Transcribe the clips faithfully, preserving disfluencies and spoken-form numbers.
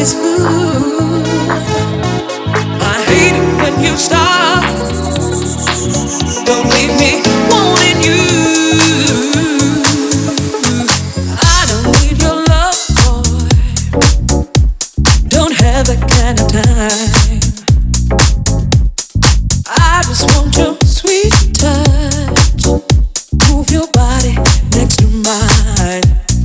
nobody's fool. I hate it when you stop. Don't leave me wanting you. I don't need your love, boy. Don't have that kind of time. I just want your sweet touch. Move your body next to mine.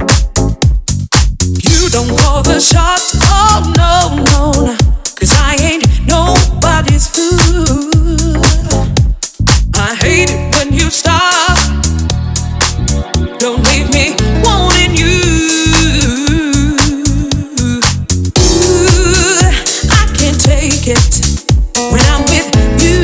You don't call the shots, oh no, no, no. Cause I ain't nobody's fool. I hate it when you stop. Don't leave me wanting you. Ooh, I can't take it when I'm with you.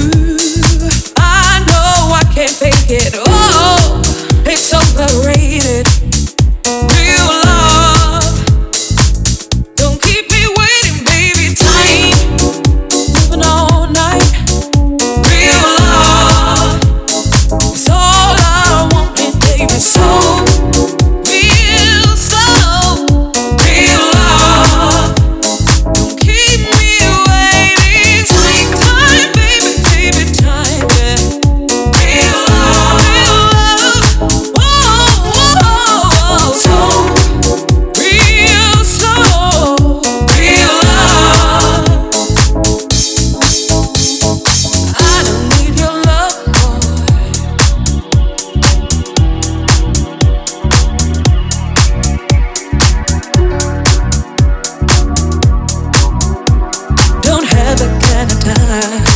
I know I can't fake it. Oh, it's overrated. Real love. Don't keep me waiting, baby. Time moving all night. Real love is all I want, and baby, so real slow. Real love. Don't keep me waiting. Take time, baby, baby, time, yeah. Real love, real love. Whoa, whoa, whoa. So real slow. Real love. I don't need your love, boy. Don't have that kind of time.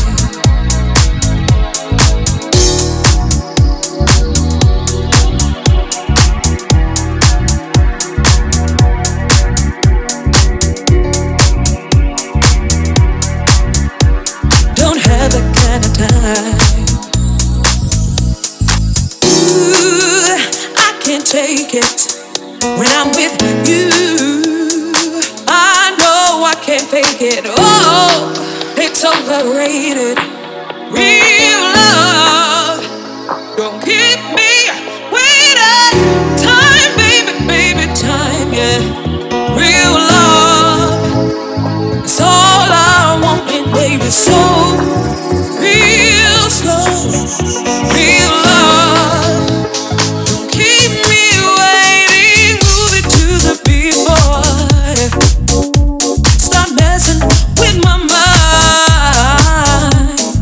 Don't have that kind of time. Ooh, I can't take it when I'm with you. I know I can't fake it. Oh, it's overrated. Real love. Don't keep me waiting. Time, baby, baby, time, yeah. Real love is all I want, and baby, so real slow. Real love. Don't keep me waiting. Move it to the beat, boy. Stop messing with my mind.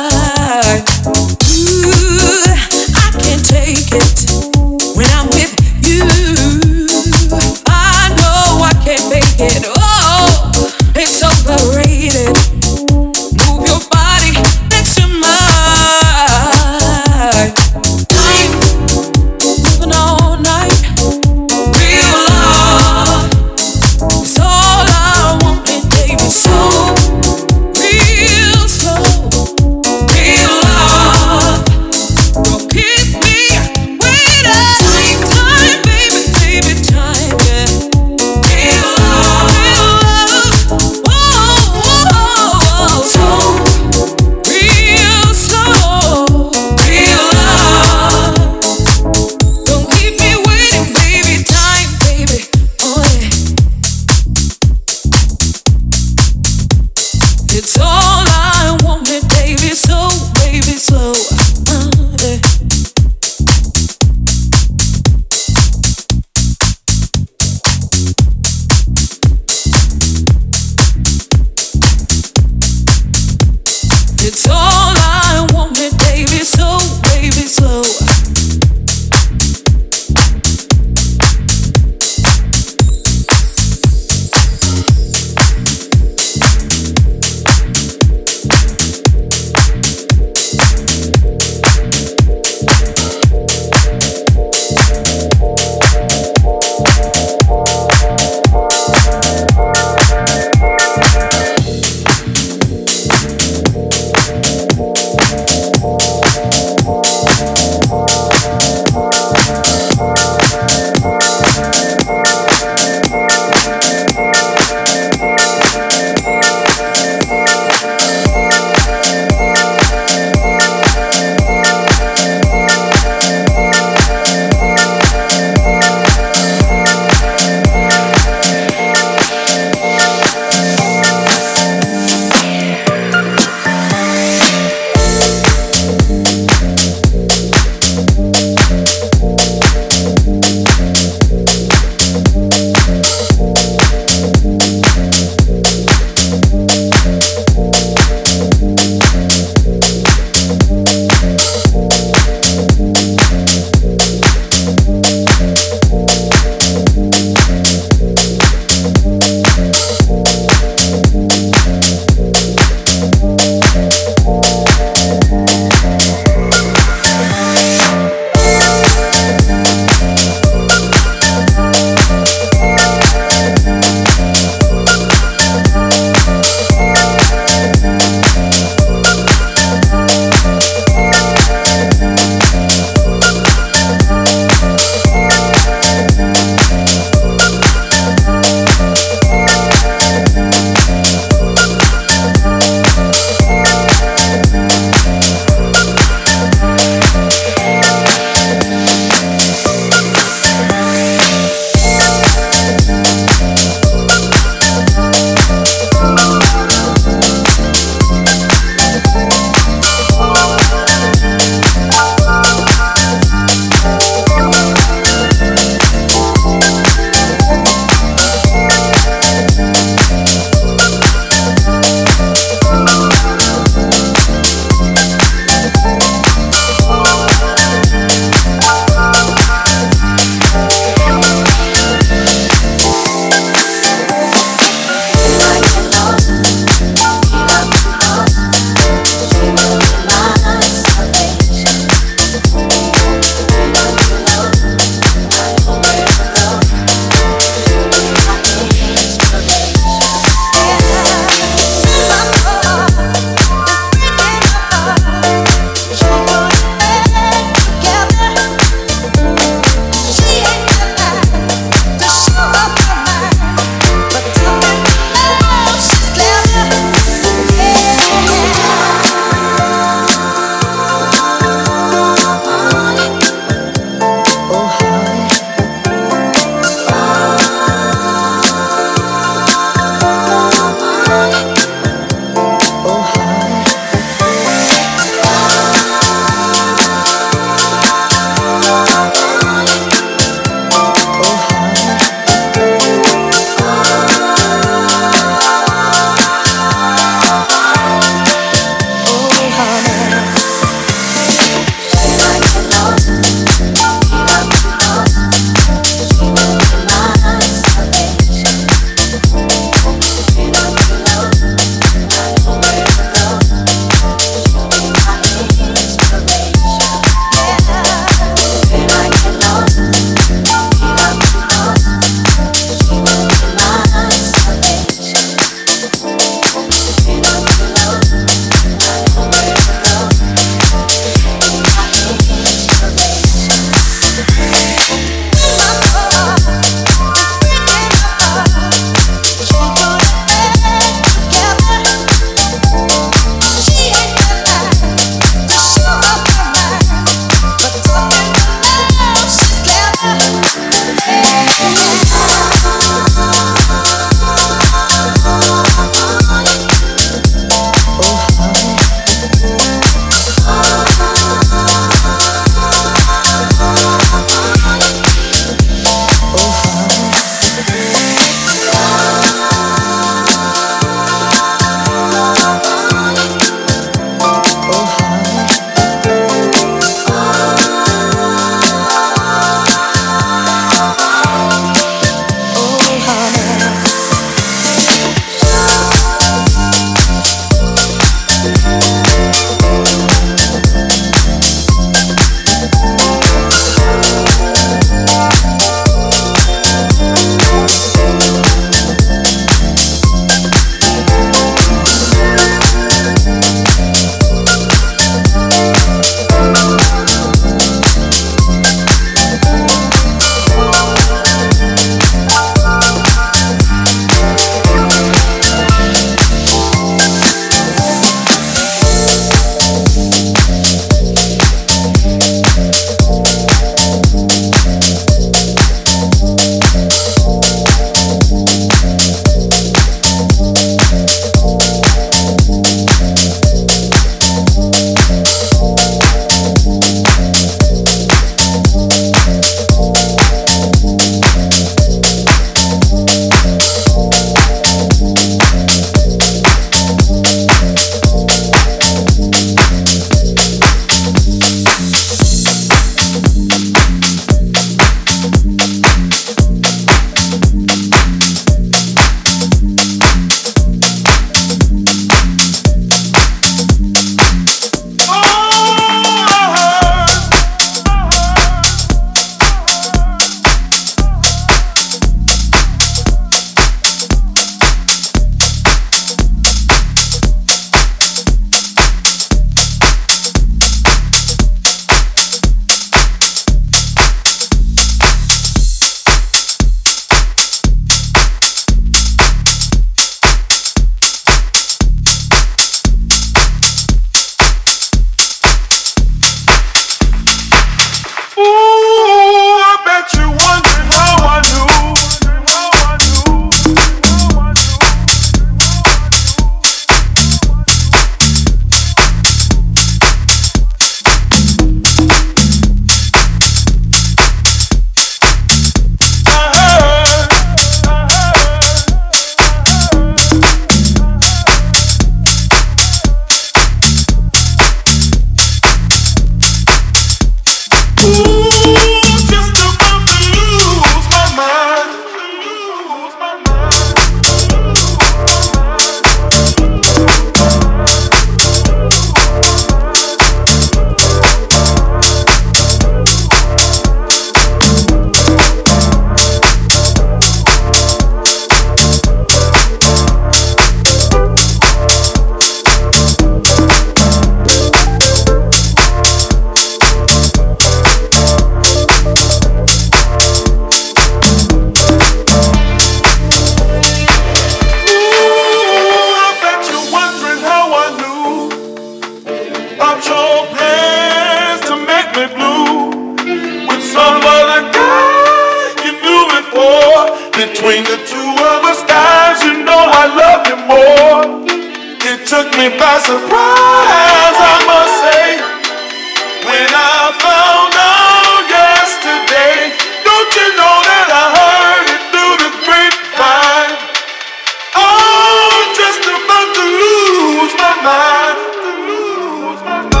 Between the two of us, guys, you know I love you more. It took me by surprise, I must say, when I found out yesterday. Don't you know that I heard it through the grapevine? Oh, just about to lose my mind. Lose my mind.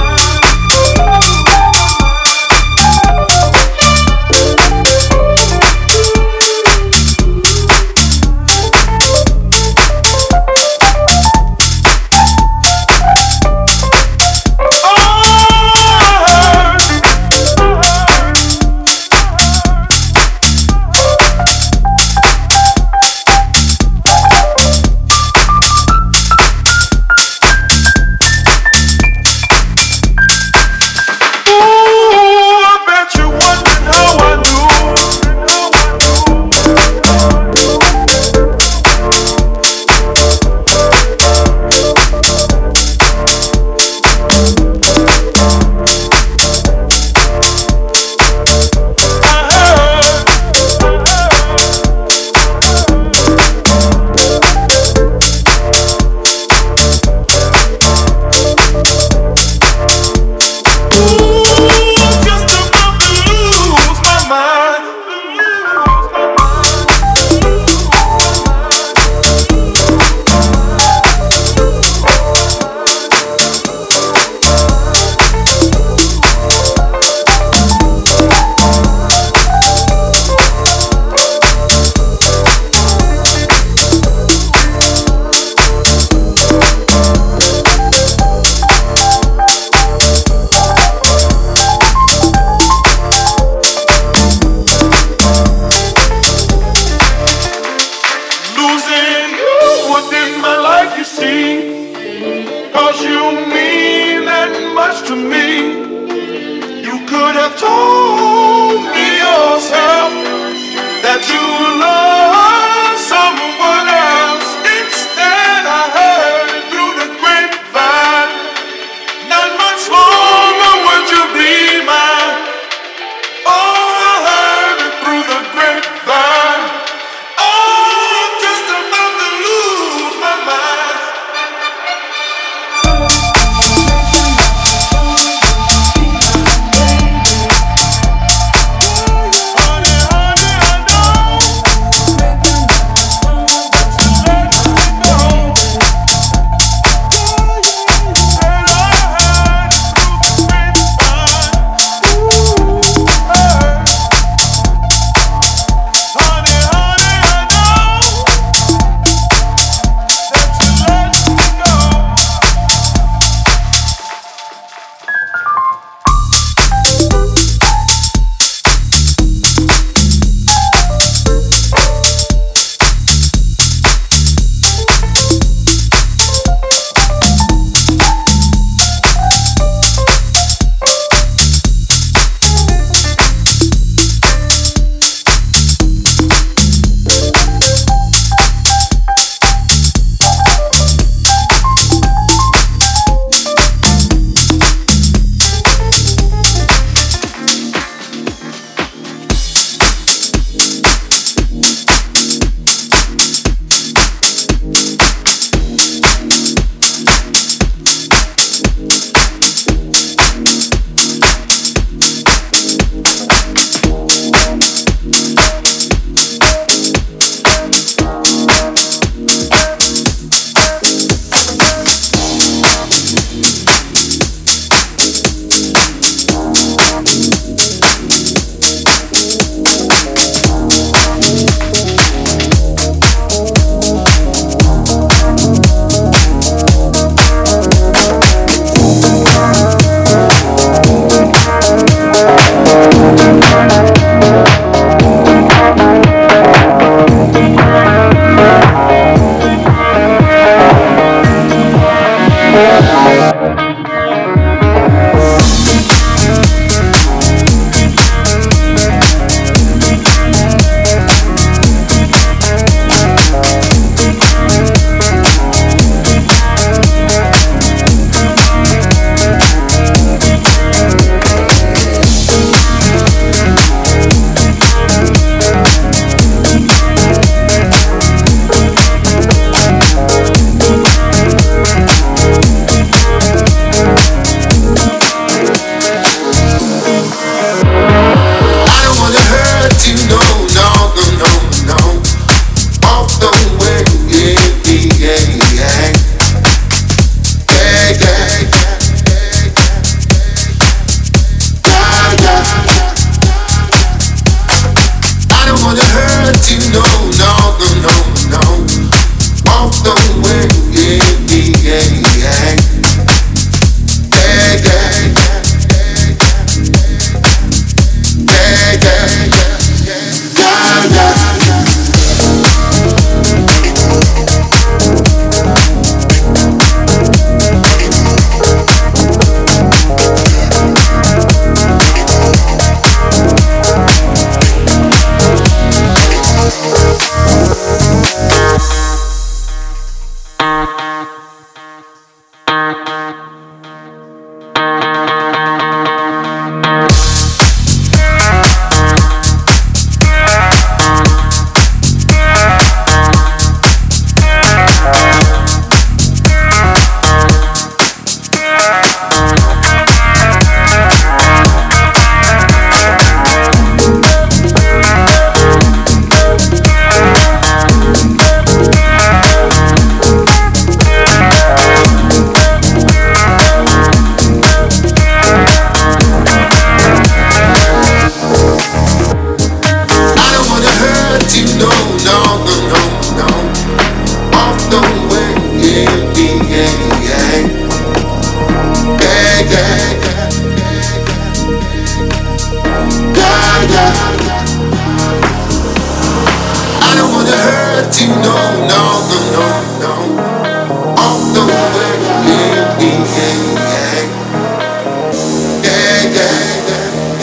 let you know, no, no, no, no. On the way, yeah, yeah, yeah, yeah, yeah,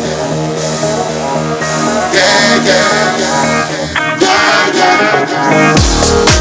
yeah, yeah, yeah, yeah, yeah, yeah.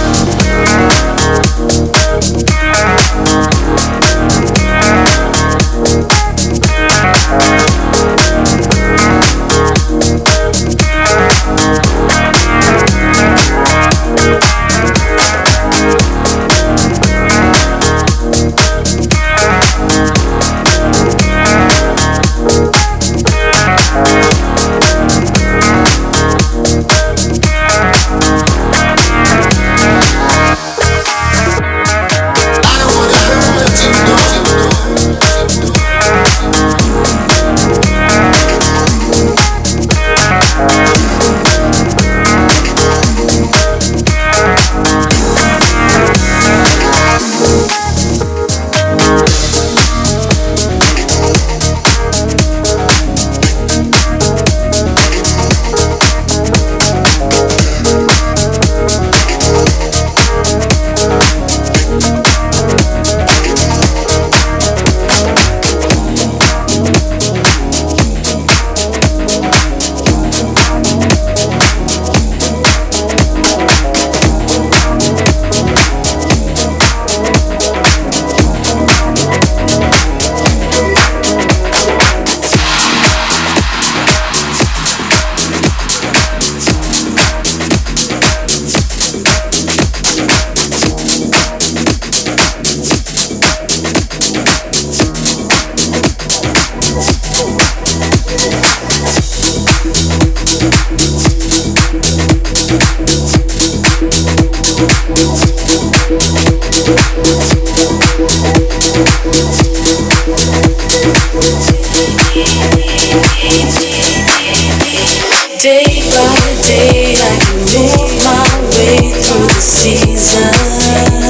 Day by day, I can move my way through the seasons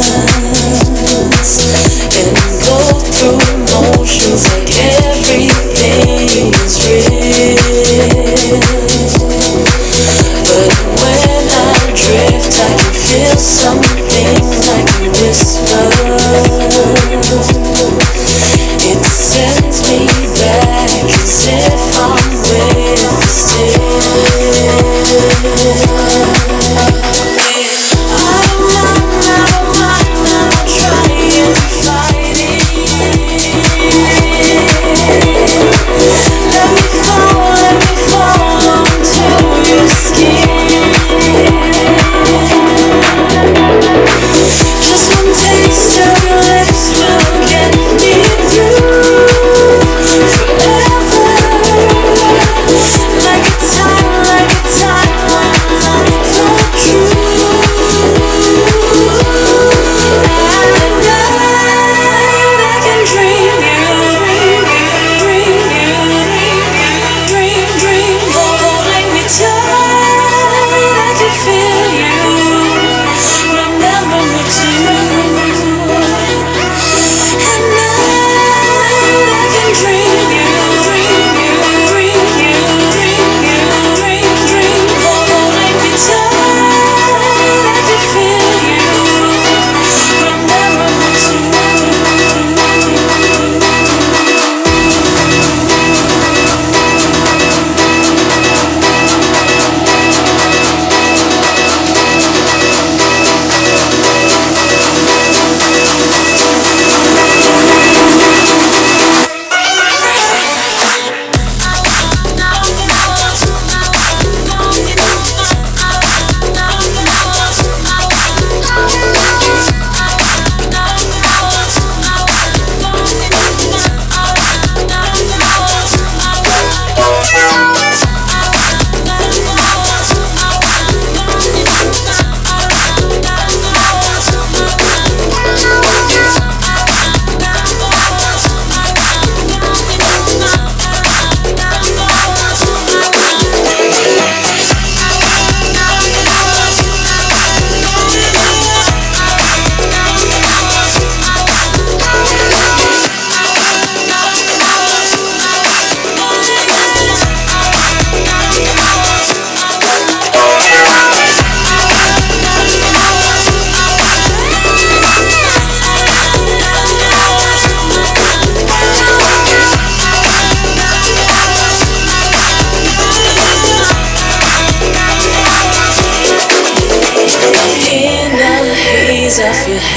and go through emotions like everything is real. But when I drift, I can feel something like a whisper. It sends me back as if I'm with still. I'm not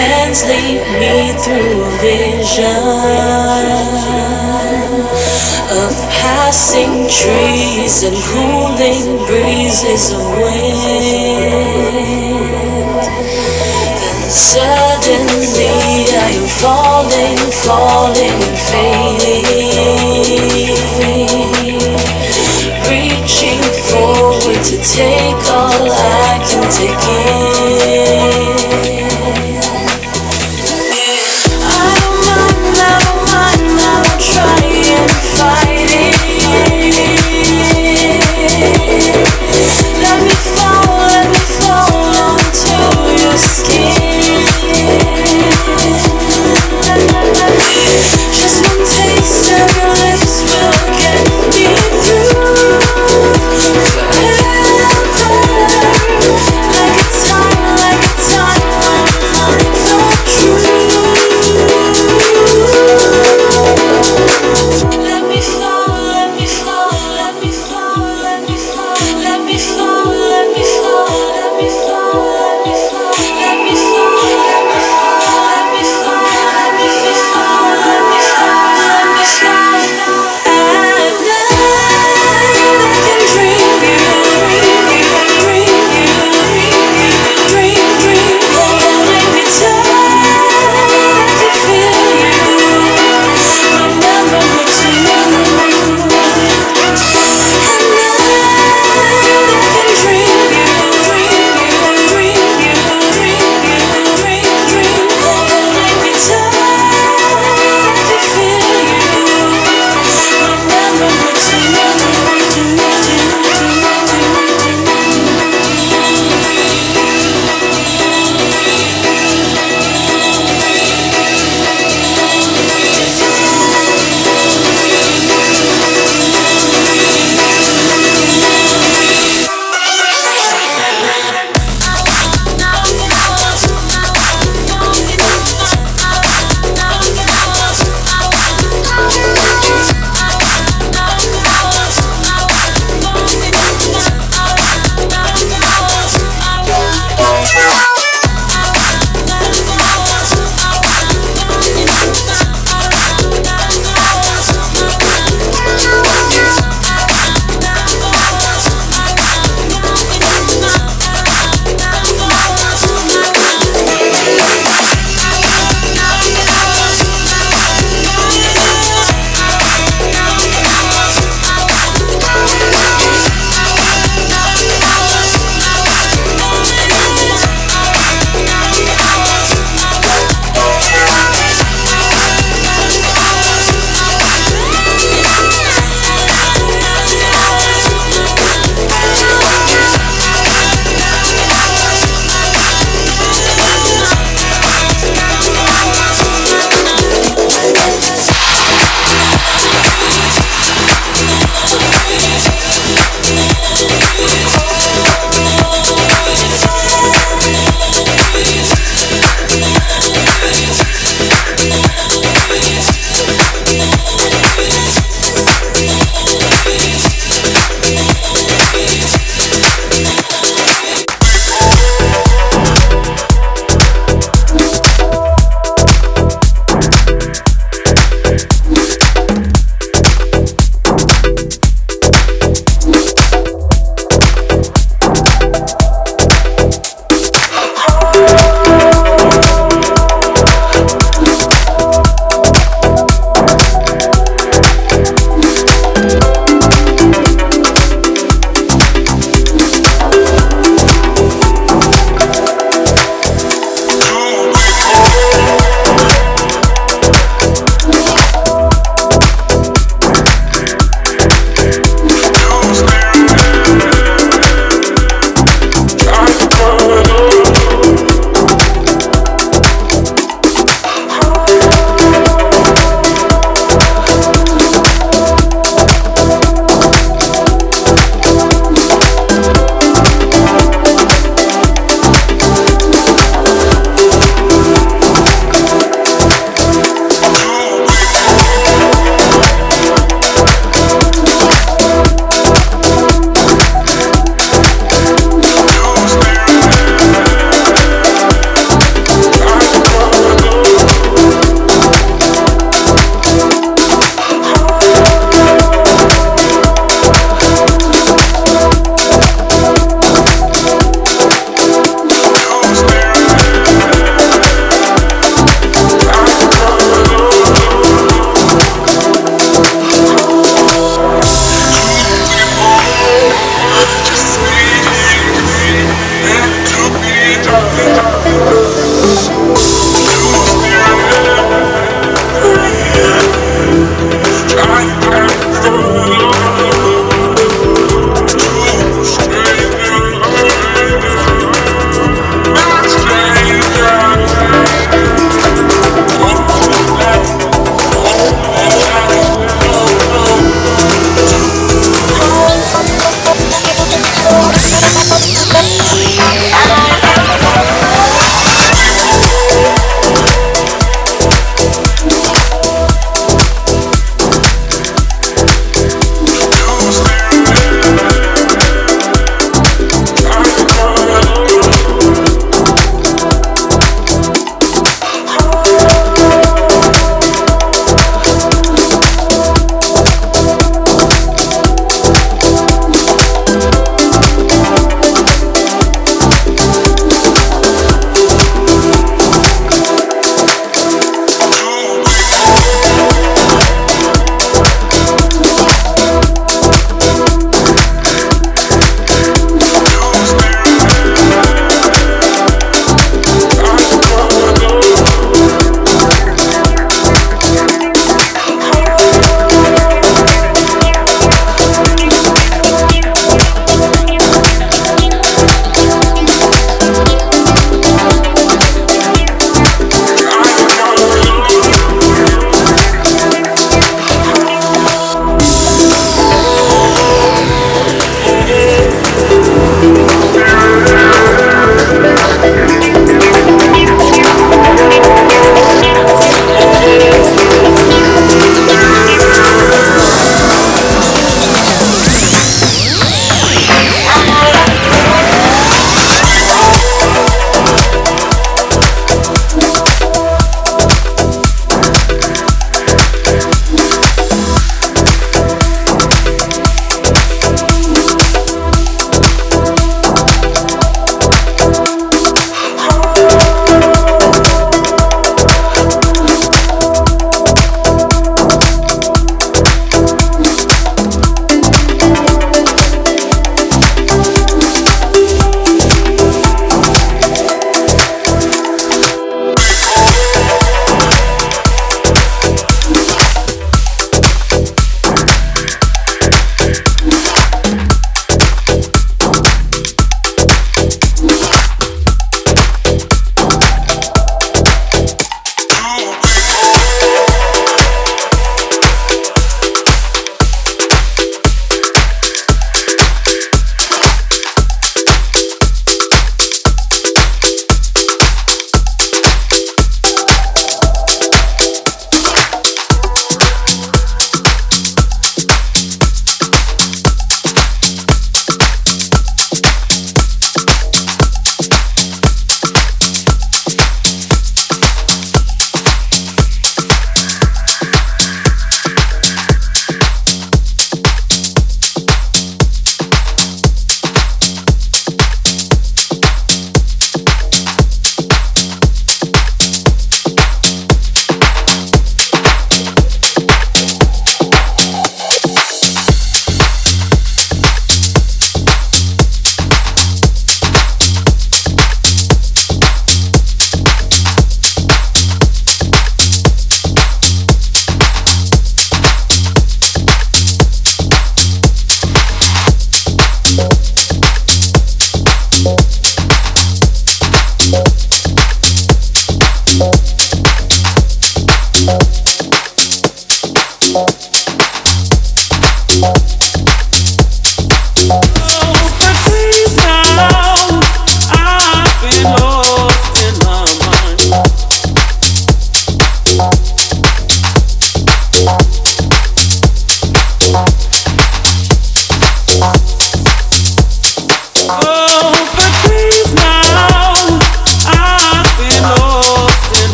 hands lead me through a vision of passing trees and cooling breezes of wind. Then suddenly I am falling, falling and fading, reaching forward to take all I can take in. I don't mind, I don't mind, I won't try and fight it. Let me fall, let me fall onto your skin. Just one taste of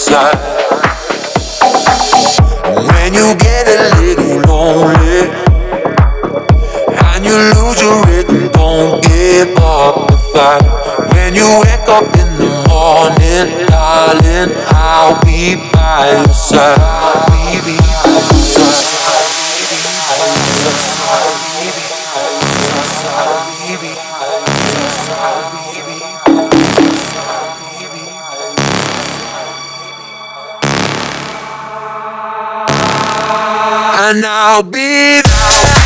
side. When you get a little lonely and you lose your rhythm, don't give up the fight. When you wake up in the morning, darling, I'll be by your side. I'll be by your side. And I'll be there.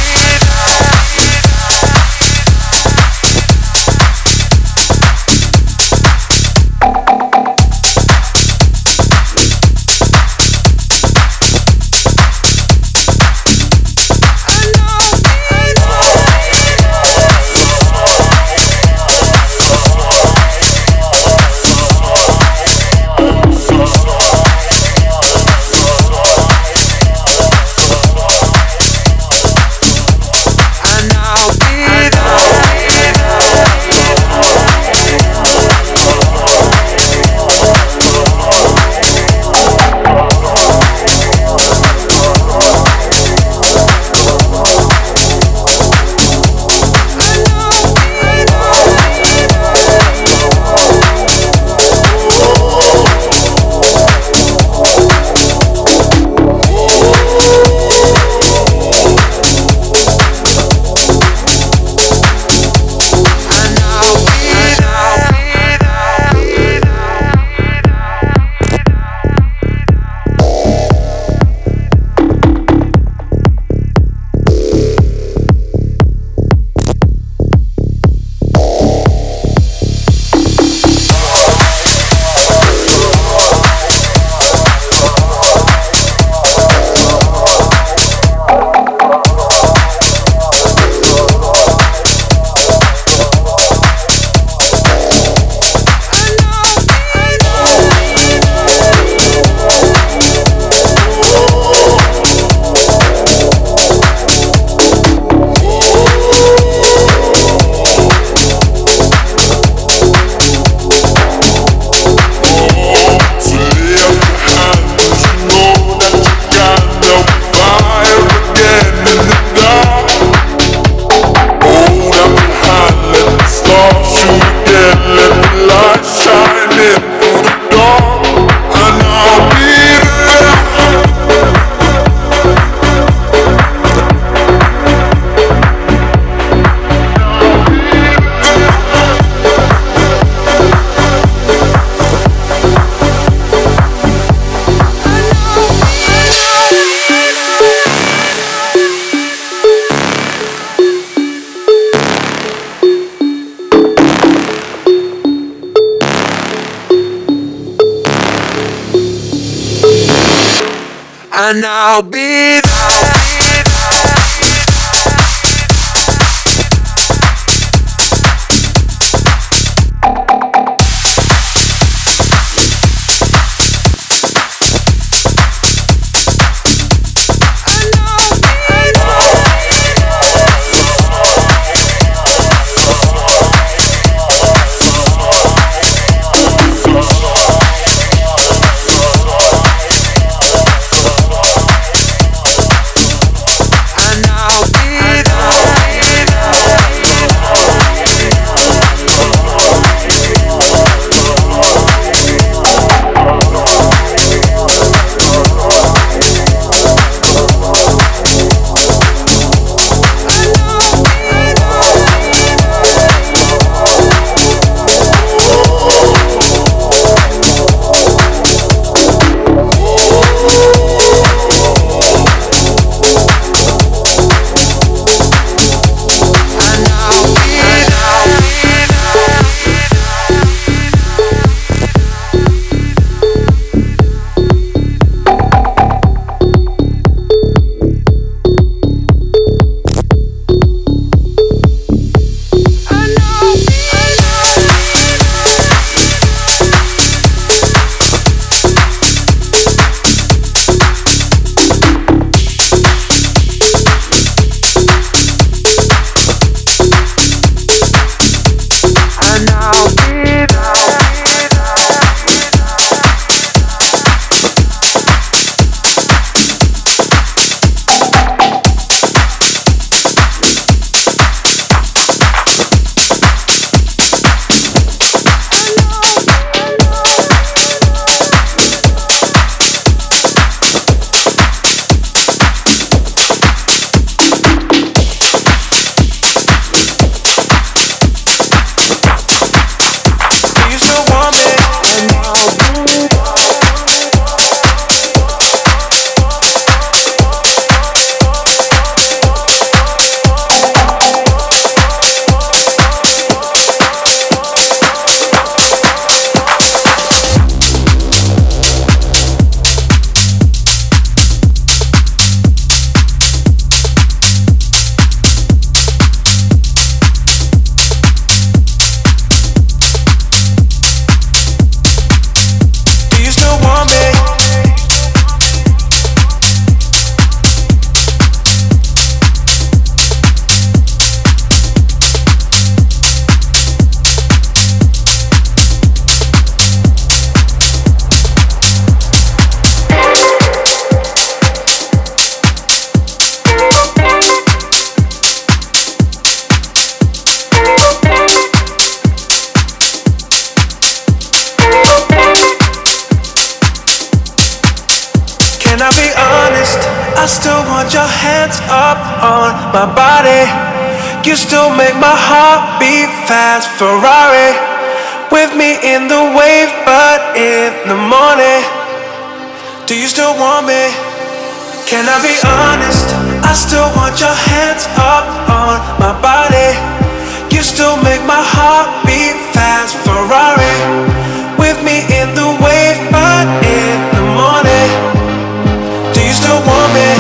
And I'll be there. Can I be honest? I still want your hands up on my body. You still make my heart beat fast. Ferrari with me in the wave, but in the morning, do you still want me? Can I be honest? I still want your hands up on my body. You still make my heart beat fast. Ferrari with me in the wave, but in the morning, do you still want me?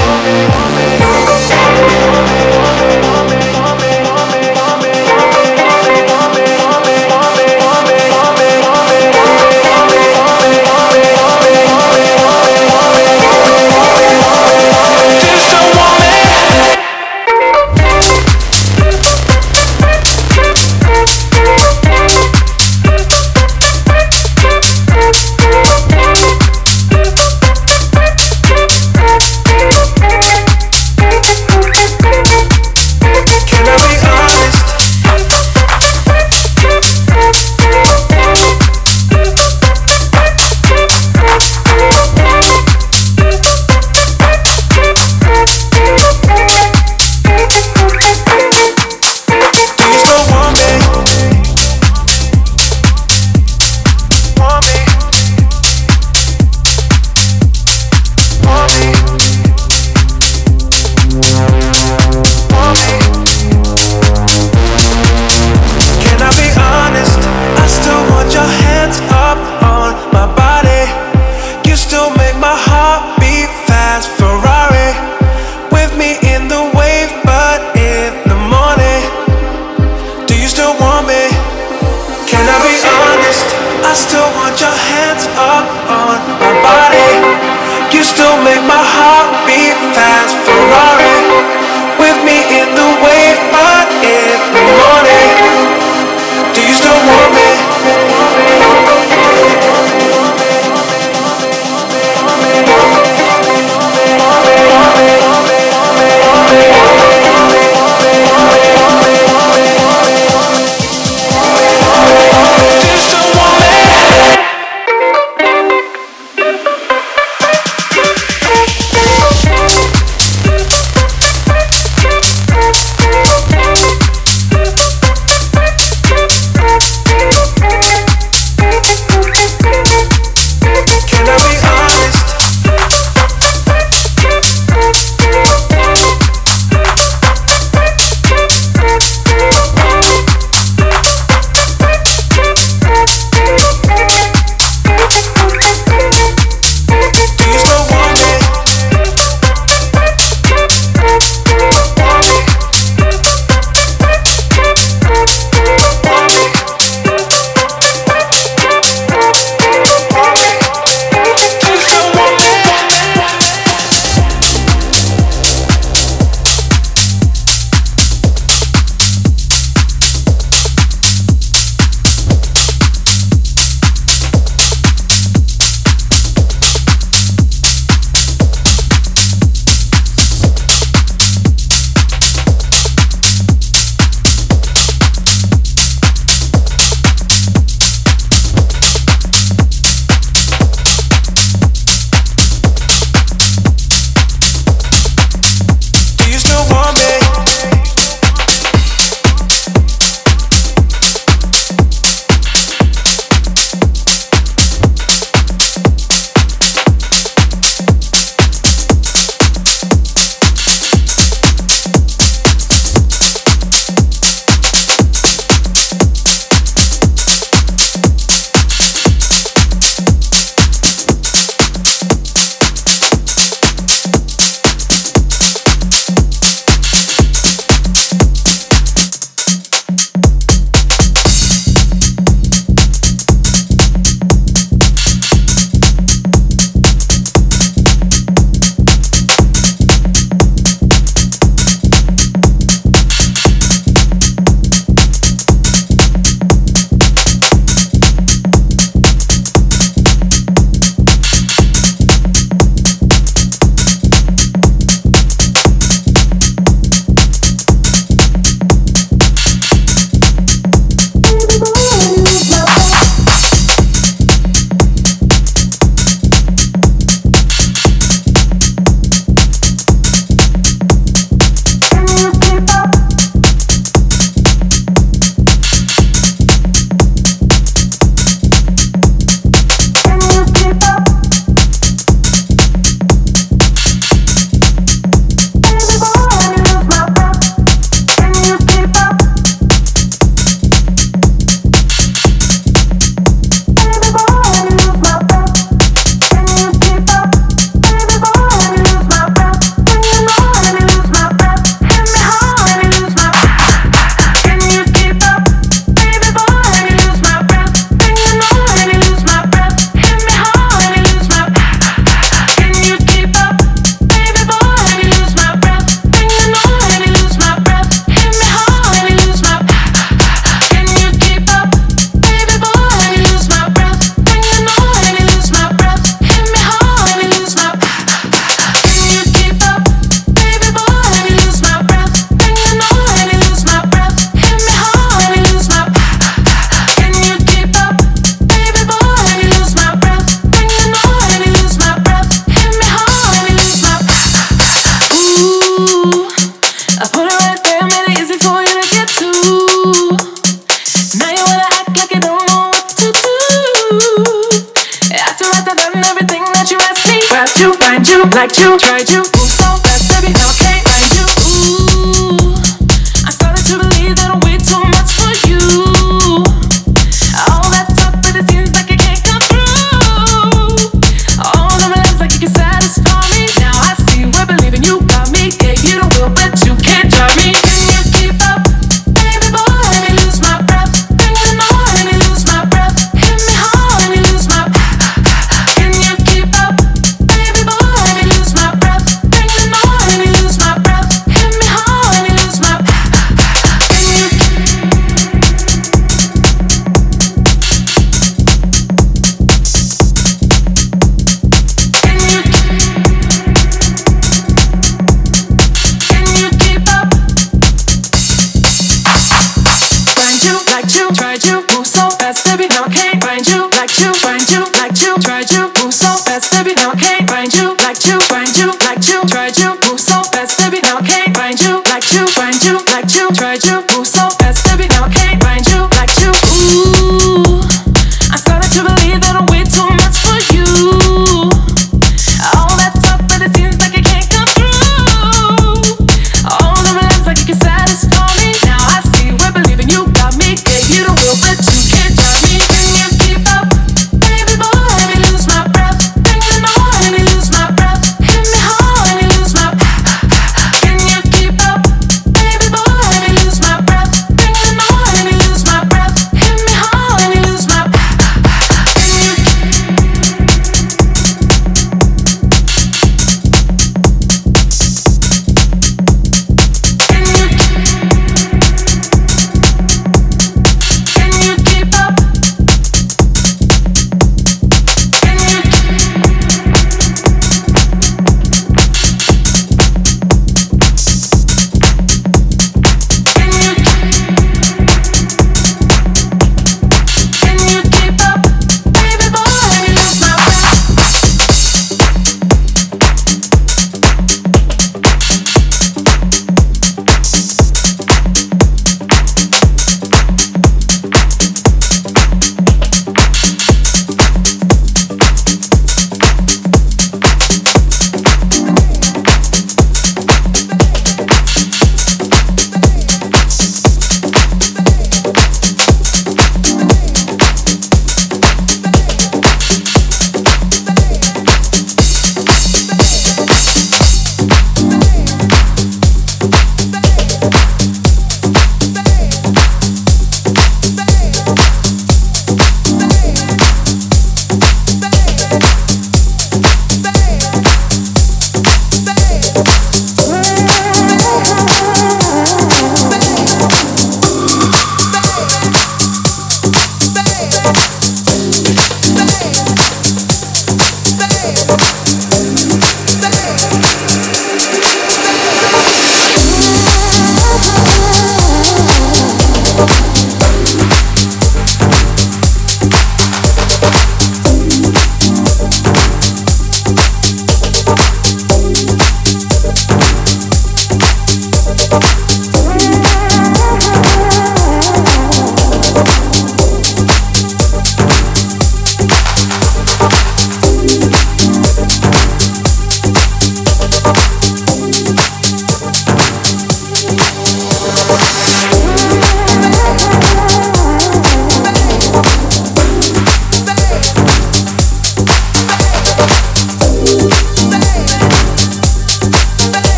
Find you, like you, tried you, move so fast, baby, now I can't find you. Ooh, I started to believe that I'm way too much for you. All that talk, but it seems like it can't come through. All the lies like you can satisfy me. Now I see we're believing you got me. Gave you the will, but you can't drive me. Can you keep up, baby boy? Let me lose my breath. Bring it on, let me lose my breath. Hit me hard, let me lose my. Can you keep up, baby boy? Let me lose my breath. Bring it on, let me lose my breath. Hit me hard, let me lose my. Can you? Can you? Can you keep up? Find you, like you, tried you, move so fast, baby, now I can't find you, like you, find you, like you, tried you, move so fast, baby, now I can't find you, like you, find you, like you, tried you, move so fast, baby, now I can't find you, like you, find you, like you, tried you, move so fast, baby, now I can't find you, like you. Ooh, I started to believe that I'm way too much for you. All that talk, but it seems like it can't come through. All the lies like you can satisfy me. Now I see we're believing you got me. Gave you the will, but you can't drive me. Can you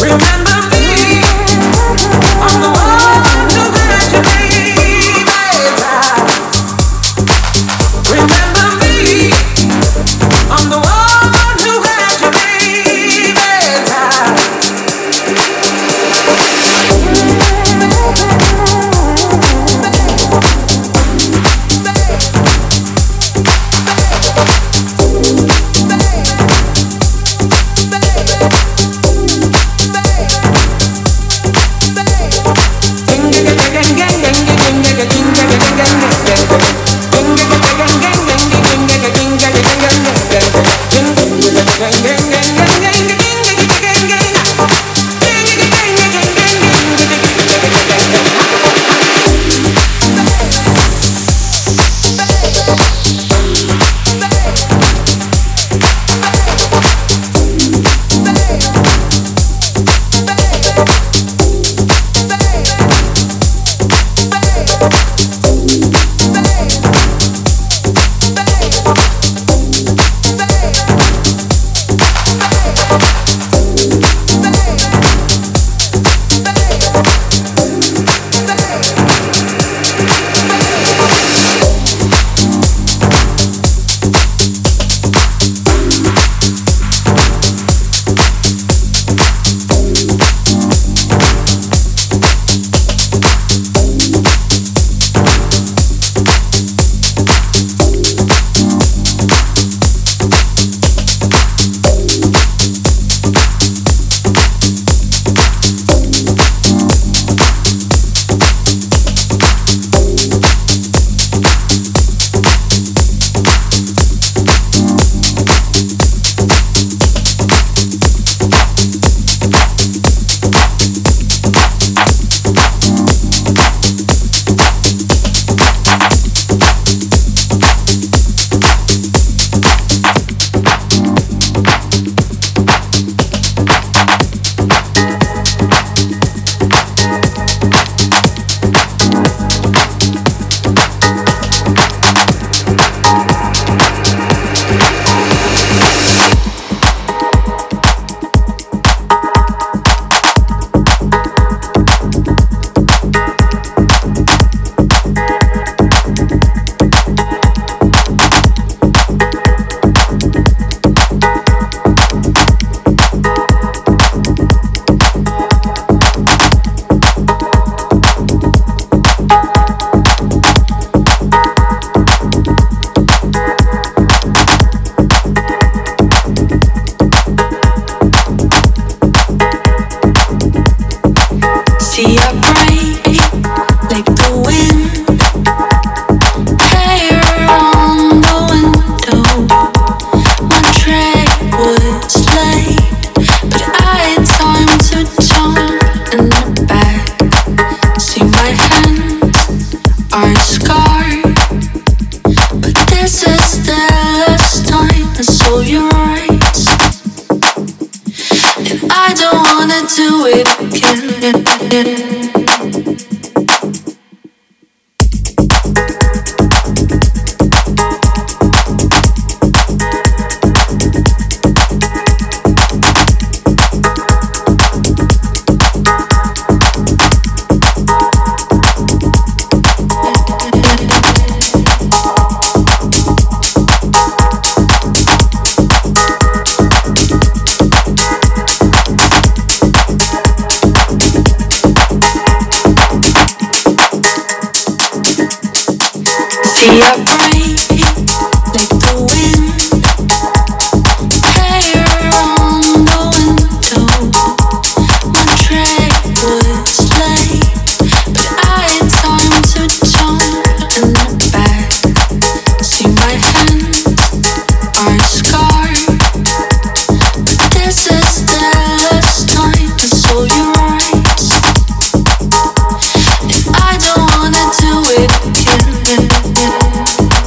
Do it again.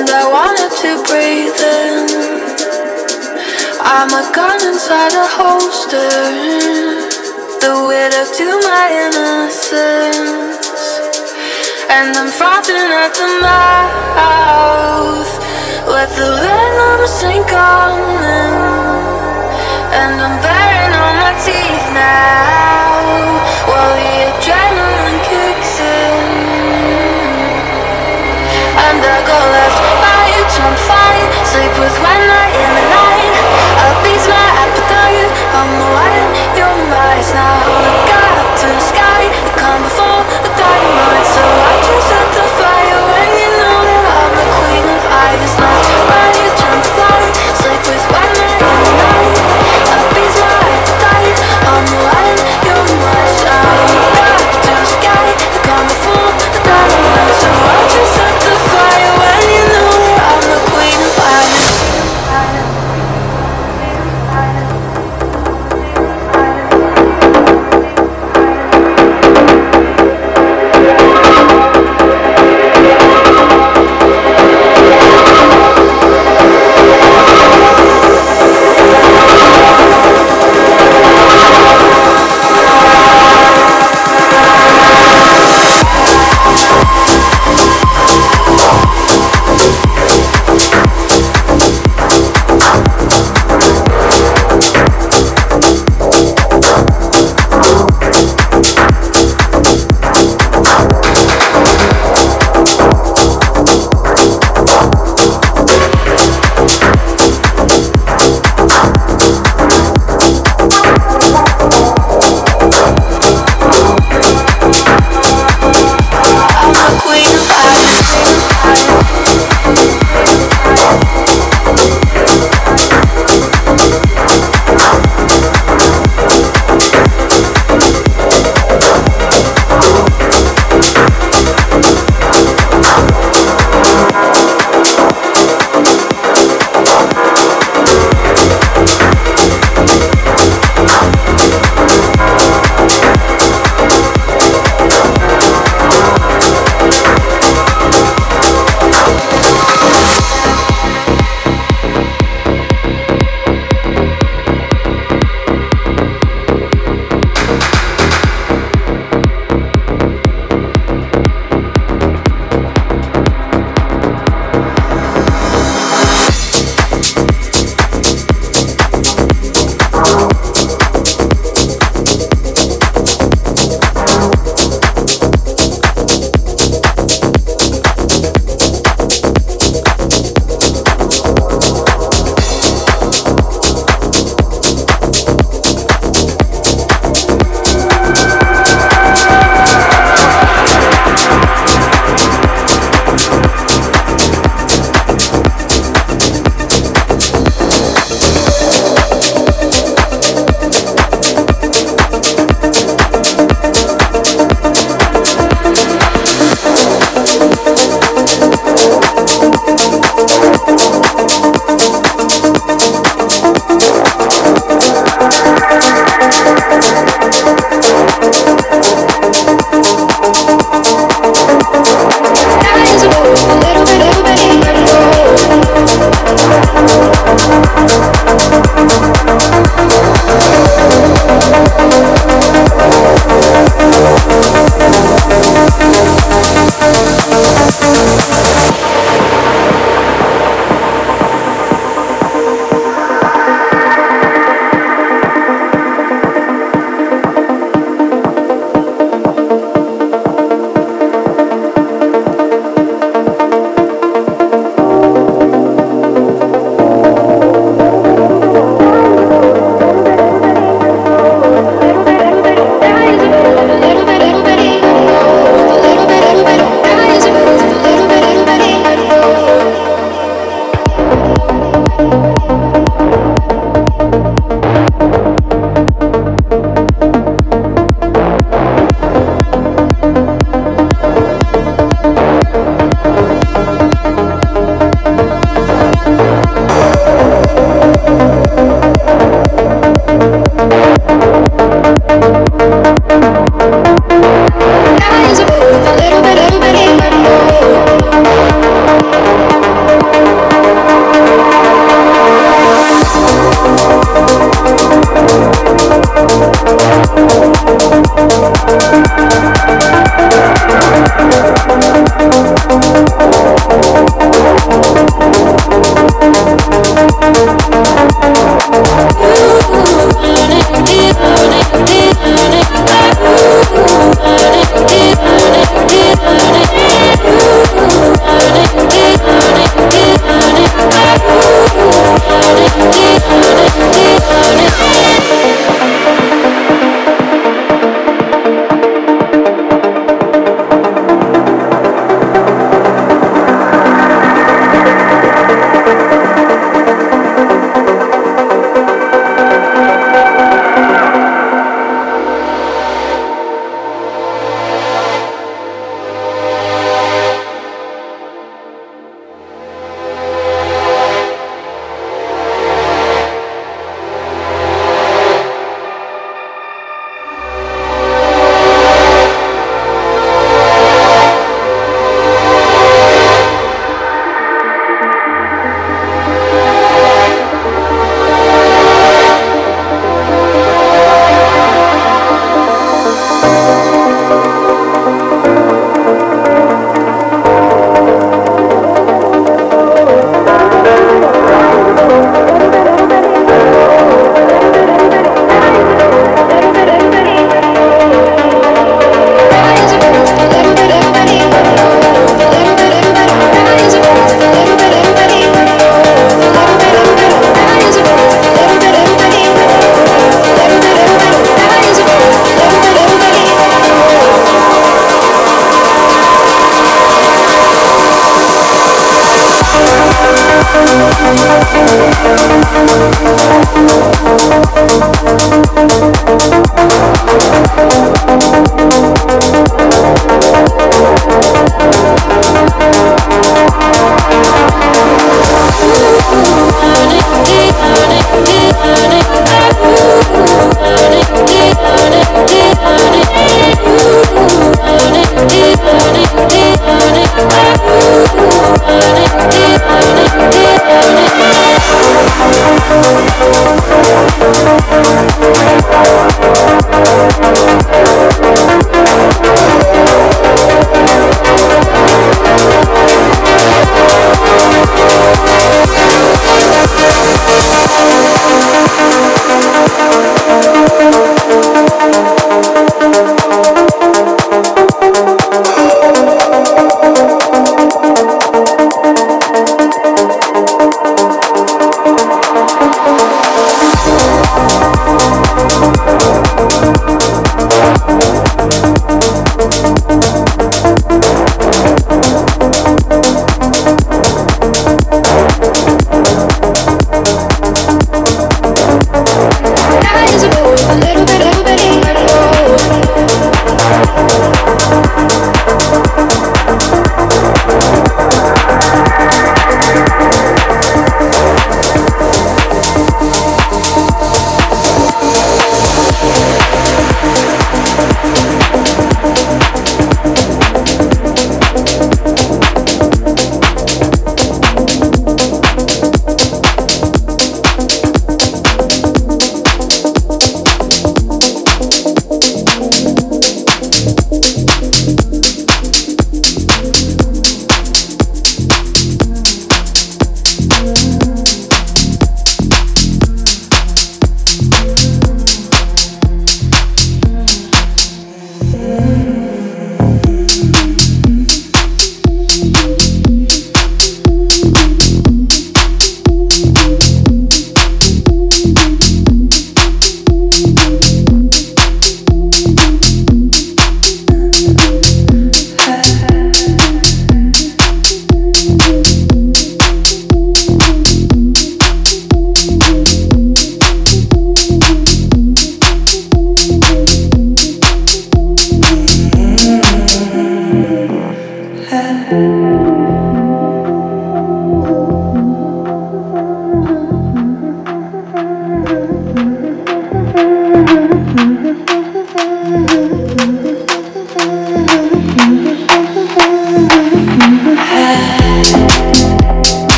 and I wanted to breathe in. I'm a gun inside a holster, the widow to my innocence, and I'm frothing at the mouth, let the venom sink on in, and I'm bearing on my teeth now, while the adrenaline kicks in. And I go left, right, jump, fight, sleep with one night in the night. Appease my appetite, I'm the wine, you're the mice. Now look up to the sky, the calm before the dynamite. So I just set the fire when you know that I'm the queen of ice. Left, right, jump, fight, sleep with one night in the night. Appease my appetite, I'm the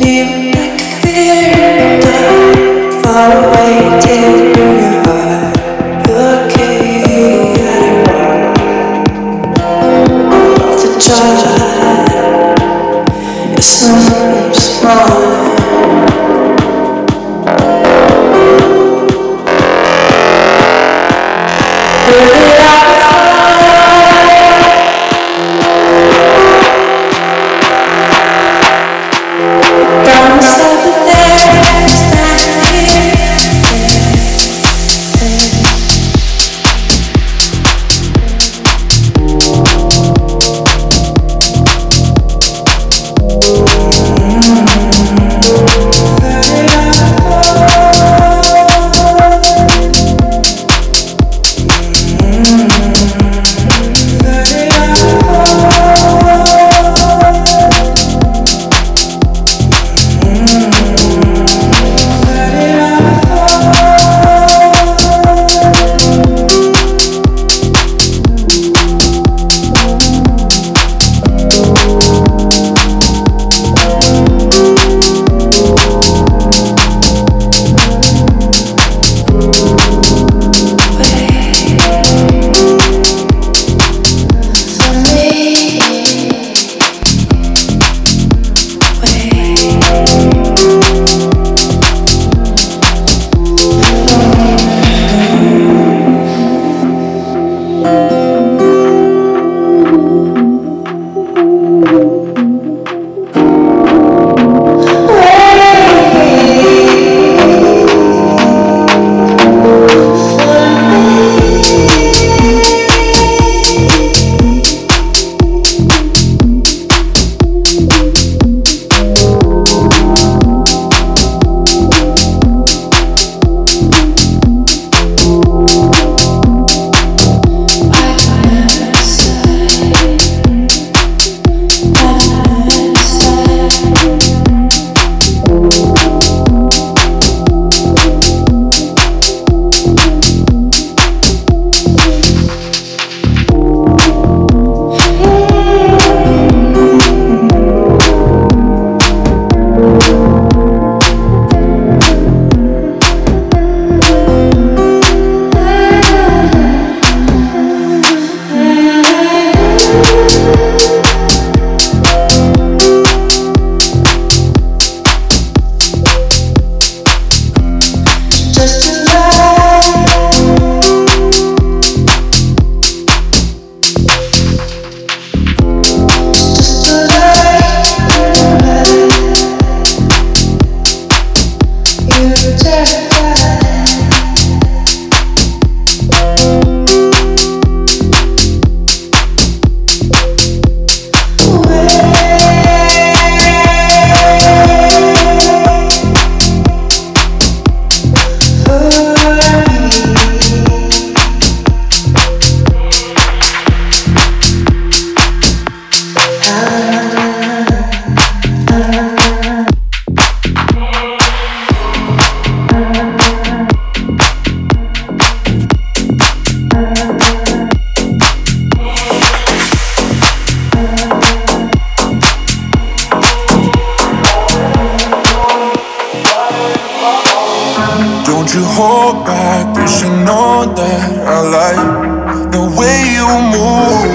hold back, you should know that I like the way you move.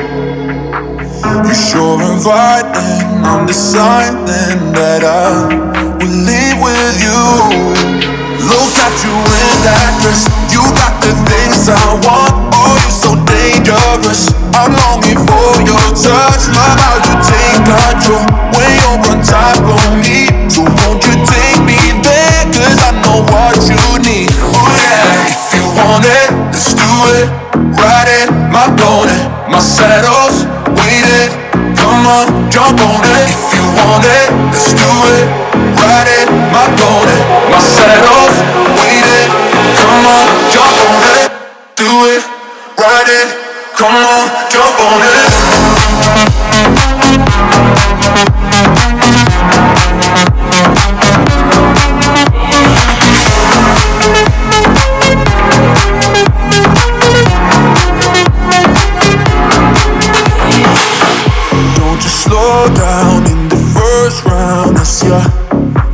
You're sure inviting, I'm deciding that I will leave with you. Look at you in that dress, you got the things I want. Oh, you're so dangerous, I'm longing for your touch. Love how you take control when you're on top of me. So won't you take me there, cause I know what you need. Oh yeah, if you want it, let's do it. Ride it, my bonnet, my saddle's waiting. Come on, jump on it. If you want it, let's do it. Ride it, my bonnet, my saddle's waiting. Come on, jump on it. Do it, ride it. Come on, jump on it. Don't you slow down in the first round, it's your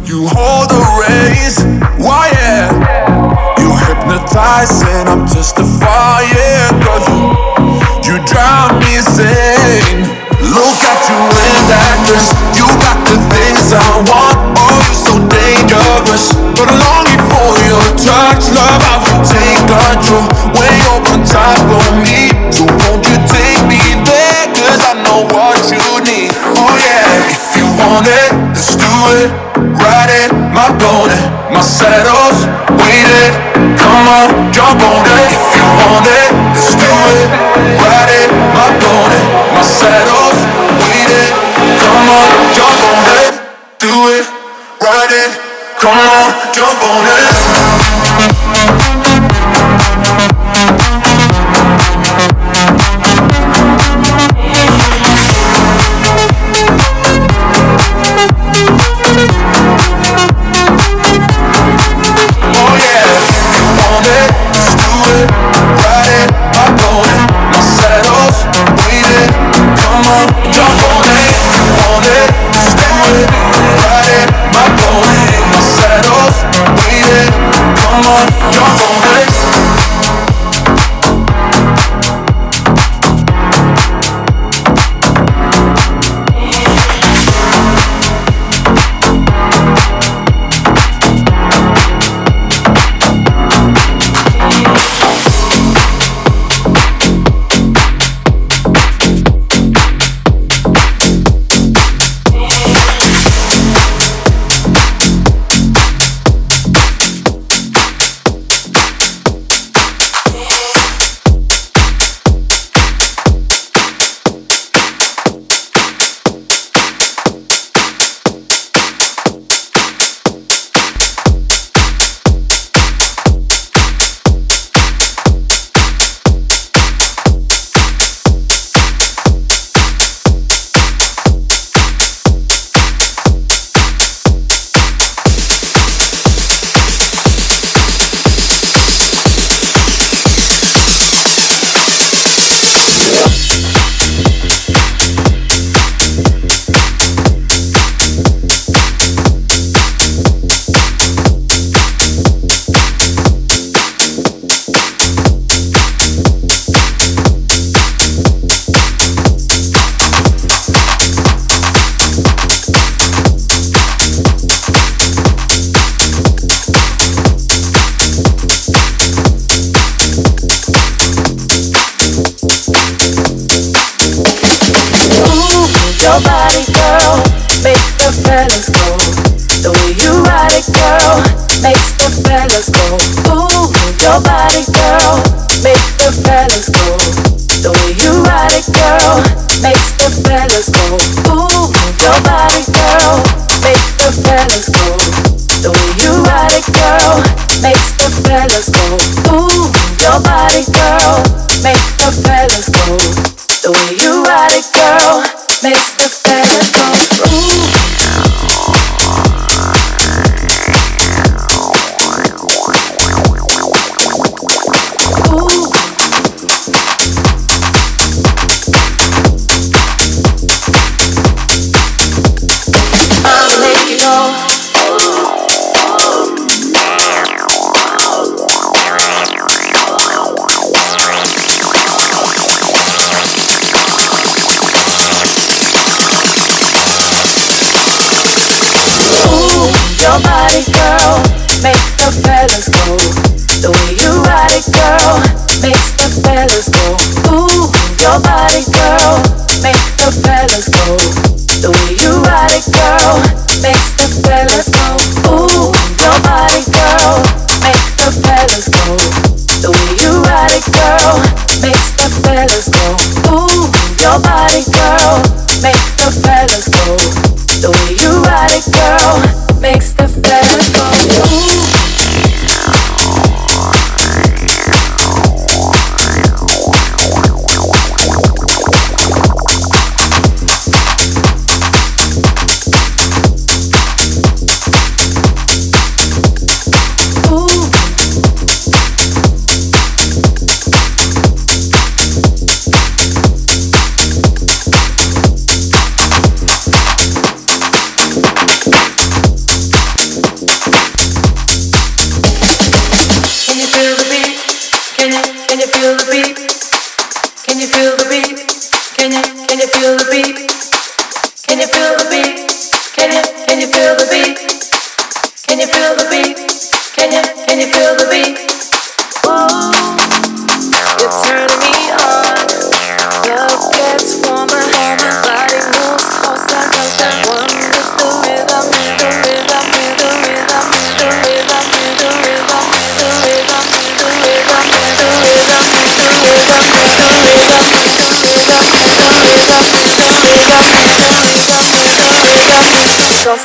You hold the reins, why yeah? You hypnotize and I'm testifying. Cause you, you drive me insane. Look at you in that dress. You got the things I want. Oh, you're so dangerous. But I'm longing for your touch, love. I will take control when you're on top of me. So won't you take me there? Cause I know what you need. Oh yeah, if you want it, let's do it. Ride it, my pony, my saddle's waiting. Come on, jump on it. If you want it, let's do it. Ride it, my pony, my saddle's waiting. Come on, jump on it. Do it, ride it. Come on, jump on it. Oh yeah, if you want it, just do it. Ride it, my pony, my saddle's waiting. Come on, jump on it. If you want it, just do it. Ride it, my pony, my saddle's waiting. Come on, jump on it.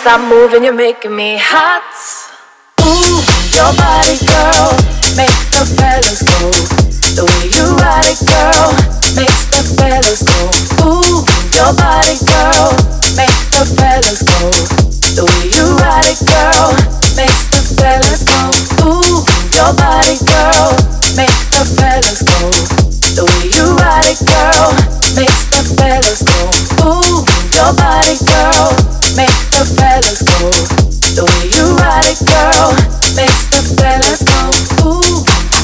stop moving, you're making me hot. Ooh, your body, girl, makes the fellas go. The way you ride it, girl, makes the fellas go. Ooh, your body, girl, makes the fellas go. The way you ride it, girl, makes the fellas go. Ooh, your body, girl, makes the fellas go. The way you ride it, girl, makes the fellas go. Ooh, your body, girl, makes the fellas go. The way you ride it, girl, makes the fellas go. Ooh.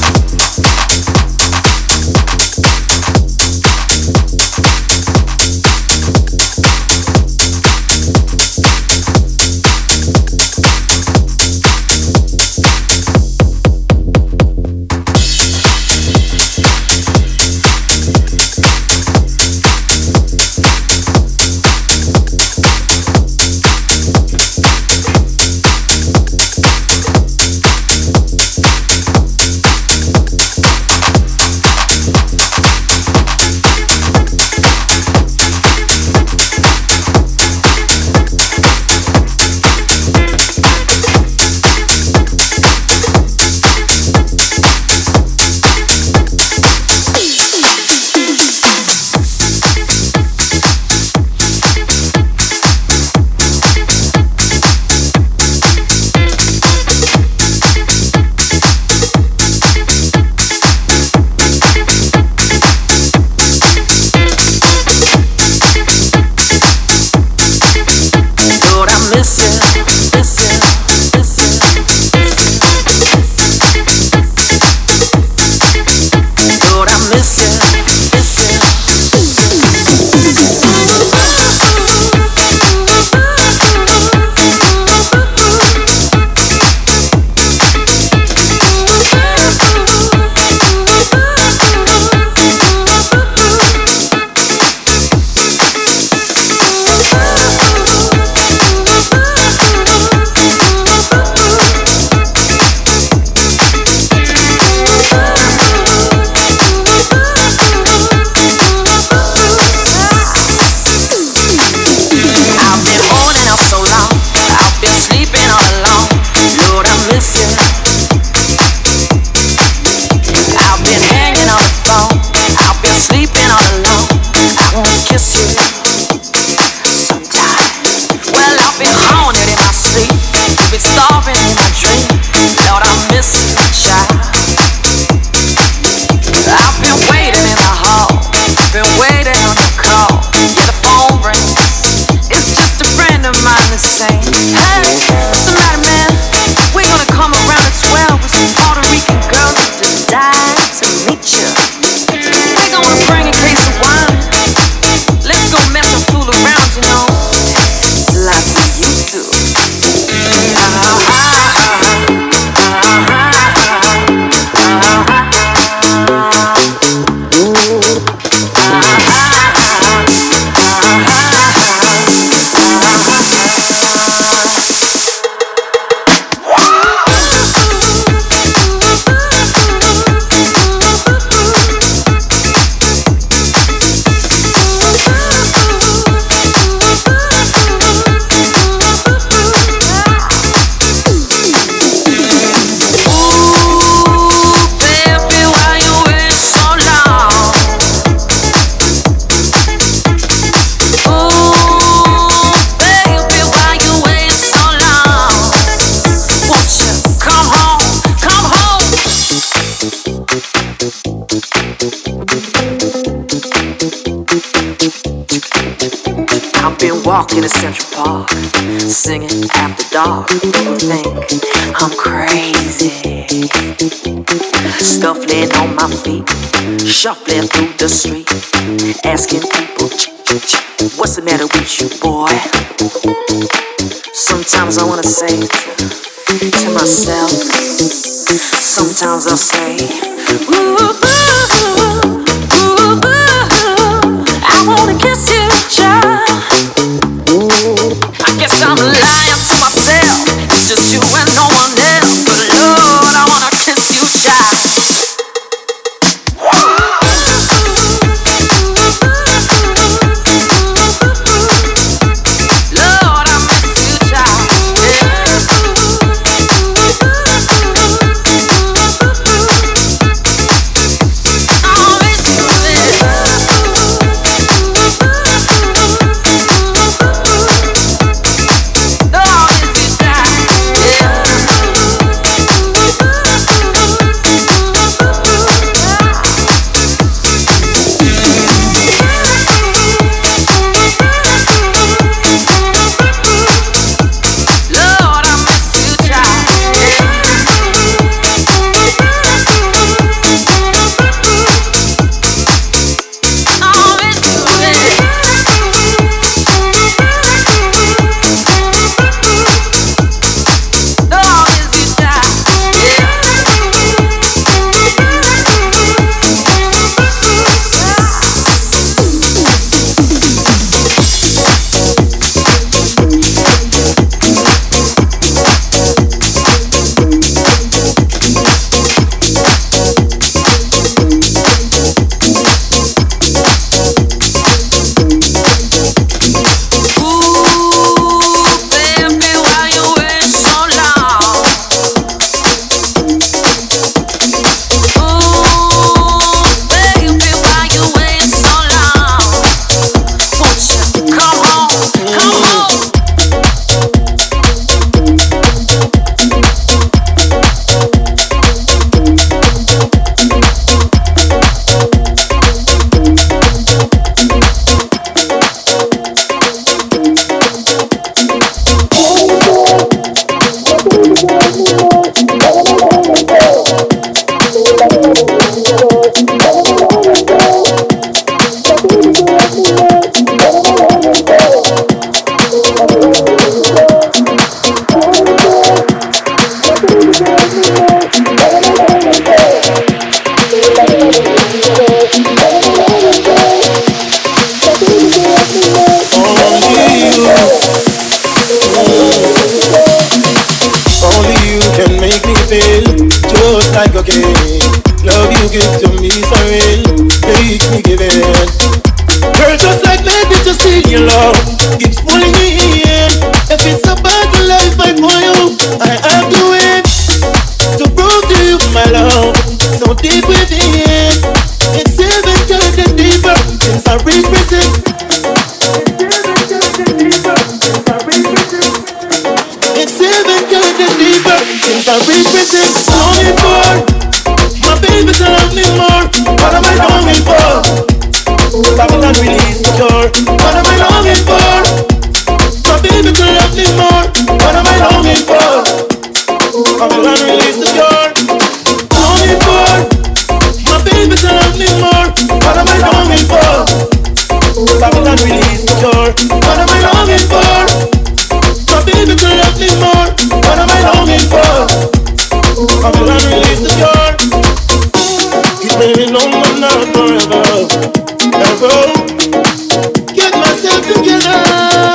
Walking in Central Park, singing after dark. People think I'm crazy. Scuffling on my feet, shuffling through the street, asking people, what's the matter with you, boy? Sometimes I wanna say to, to myself, sometimes I'll say, ooh, ooh, ooh, ooh, I wanna kiss you, child. I guess I'm lying to myself. It's just you and no one else. But Lord, I wanna kiss you, child. Lord, I miss you, child. like cocaine. Love you give to me, sorry, make me give it. Girl, just like magic, just see your love keeps pulling me in. If it's about the life I for you, I have to win. To prove to you my love, so deep within. It's seven times deeper since I reach prison. It's seven times deeper since I reach prison. Longing for my baby to love me more. What am I longing for? Babylon release the door. What am I longing for? My baby to love me more. What am I longing for? Babylon release the door. Longing for my baby to love me more. What am I longing for? Babylon release the door. What am I longing for? My baby to love me more. What am I longing for? Babylon release the door. Keep me no man not forever. Get myself together.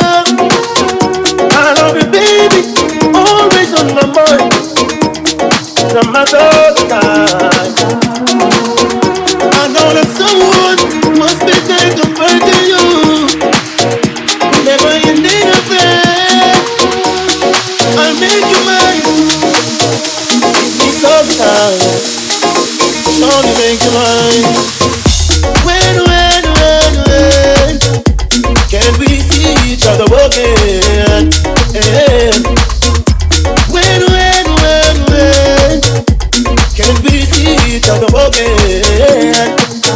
I love you, baby. Always on my mind. No matter the time. I know that someone must be there compared to you. Whenever you need a friend, I'll make you mine. Give me some time. Only make you mine. When, when, when, when can we see each other again? Yeah. When, when, when, when can we see each other again?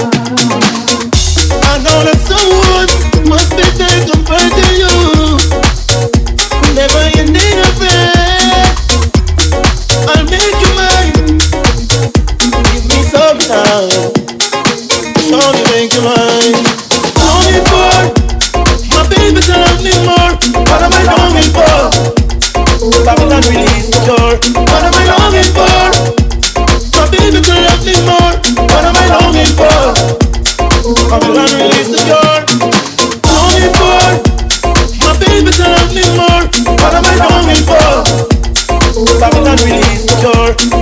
I know that someone must be there compared to you. Whenever you need a friend, I'll make you mine. Give me some time. Only make you mine. Longing for my baby to love me more. What am I longing for? Babylon release the door. What am I longing for? My baby to love me more. What am I longing for? Babylon release the door. Longing for my baby to love me more. What am I longing for? Babylon release the door.